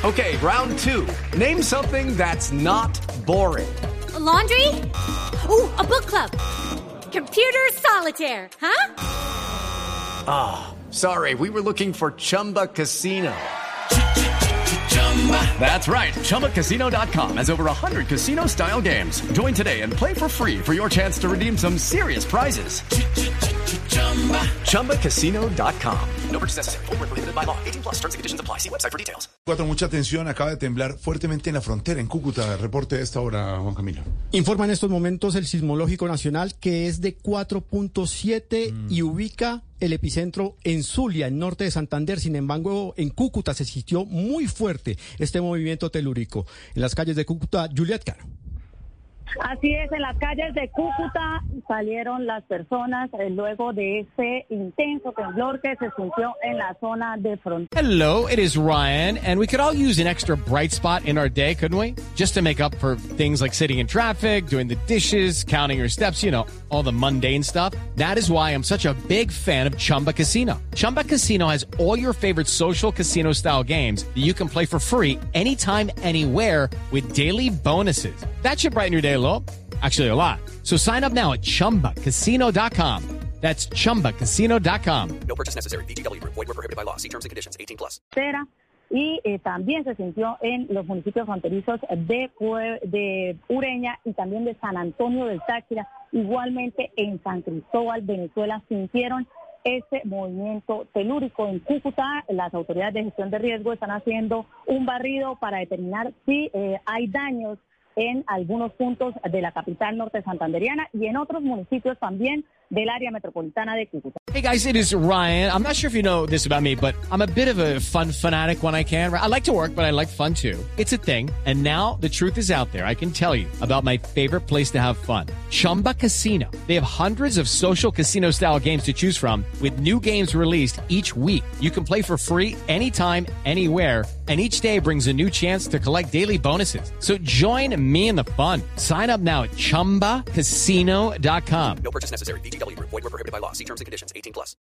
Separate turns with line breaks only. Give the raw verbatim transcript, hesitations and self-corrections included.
Okay, round two. Name something that's not boring.
A laundry? Ooh, a book club. Computer solitaire, huh?
Ah, oh, sorry. We were looking for Chumba Casino. That's right. Chumba Casino dot com has over one hundred casino-style games. Join today and play for free for your chance to redeem some serious prizes. Chumba Casino dot com. No purchase necessary. Void where prohibited by law. eighteen plus terms and conditions apply. See website for details.
Cuatro, mucha atención. Acaba de temblar fuertemente en la frontera, en Cúcuta. Reporte de esta hora, Juan Camilo.
Informa en estos momentos el Sismológico Nacional que es de cuatro punto siete mm. y ubica el epicentro en Zulia, en norte de Santander. Sin embargo, en Cúcuta se sintió muy fuerte este movimiento telúrico. En las calles de Cúcuta, Juliet Caro.
Así es, en las calles de Cúcuta salieron las personas eh, luego de ese intenso temblor que se sintió en la zona de frontera.
Hello, it is Ryan, and we could all use an extra bright spot in our day, couldn't we? Just to make up for things like sitting in traffic, doing the dishes, counting your steps, you know, all the mundane stuff. That is why I'm such a big fan of Chumba Casino. Chumba Casino has all your favorite social casino-style games that you can play for free anytime, anywhere with daily bonuses. That should brighten your day a little. Actually, a lot. So sign up now at Chumba Casino dot com. That's Chumba Casino dot com.
No purchase necessary. V G W Group. Void where prohibited by law. See terms and conditions. eighteen plus.
Y eh, también se sintió en los municipios fronterizos de, de Ureña y también de San Antonio del Táchira. Igualmente en San Cristóbal, Venezuela, sintieron ese movimiento telúrico. En Cúcuta, las autoridades de gestión de riesgo están haciendo un barrido para determinar si eh, hay daños en algunos puntos de la capital norte santanderiana y en otros municipios también del área metropolitana de Cúcuta.
Hey guys, it is Ryan. I'm not sure if you know this about me, but I'm a bit of a fun fanatic when I can. I like to work, but I like fun too. It's a thing. And now the truth is out there. I can tell you about my favorite place to have fun. Chumba Casino. They have hundreds of social casino style games to choose from with new games released each week. You can play for free anytime, anywhere. And each day brings a new chance to collect daily bonuses. So join me in the fun. Sign up now at Chumba Casino dot com.
No purchase necessary. V G W Group. Void where prohibited by law. See terms and conditions. eighteen plus.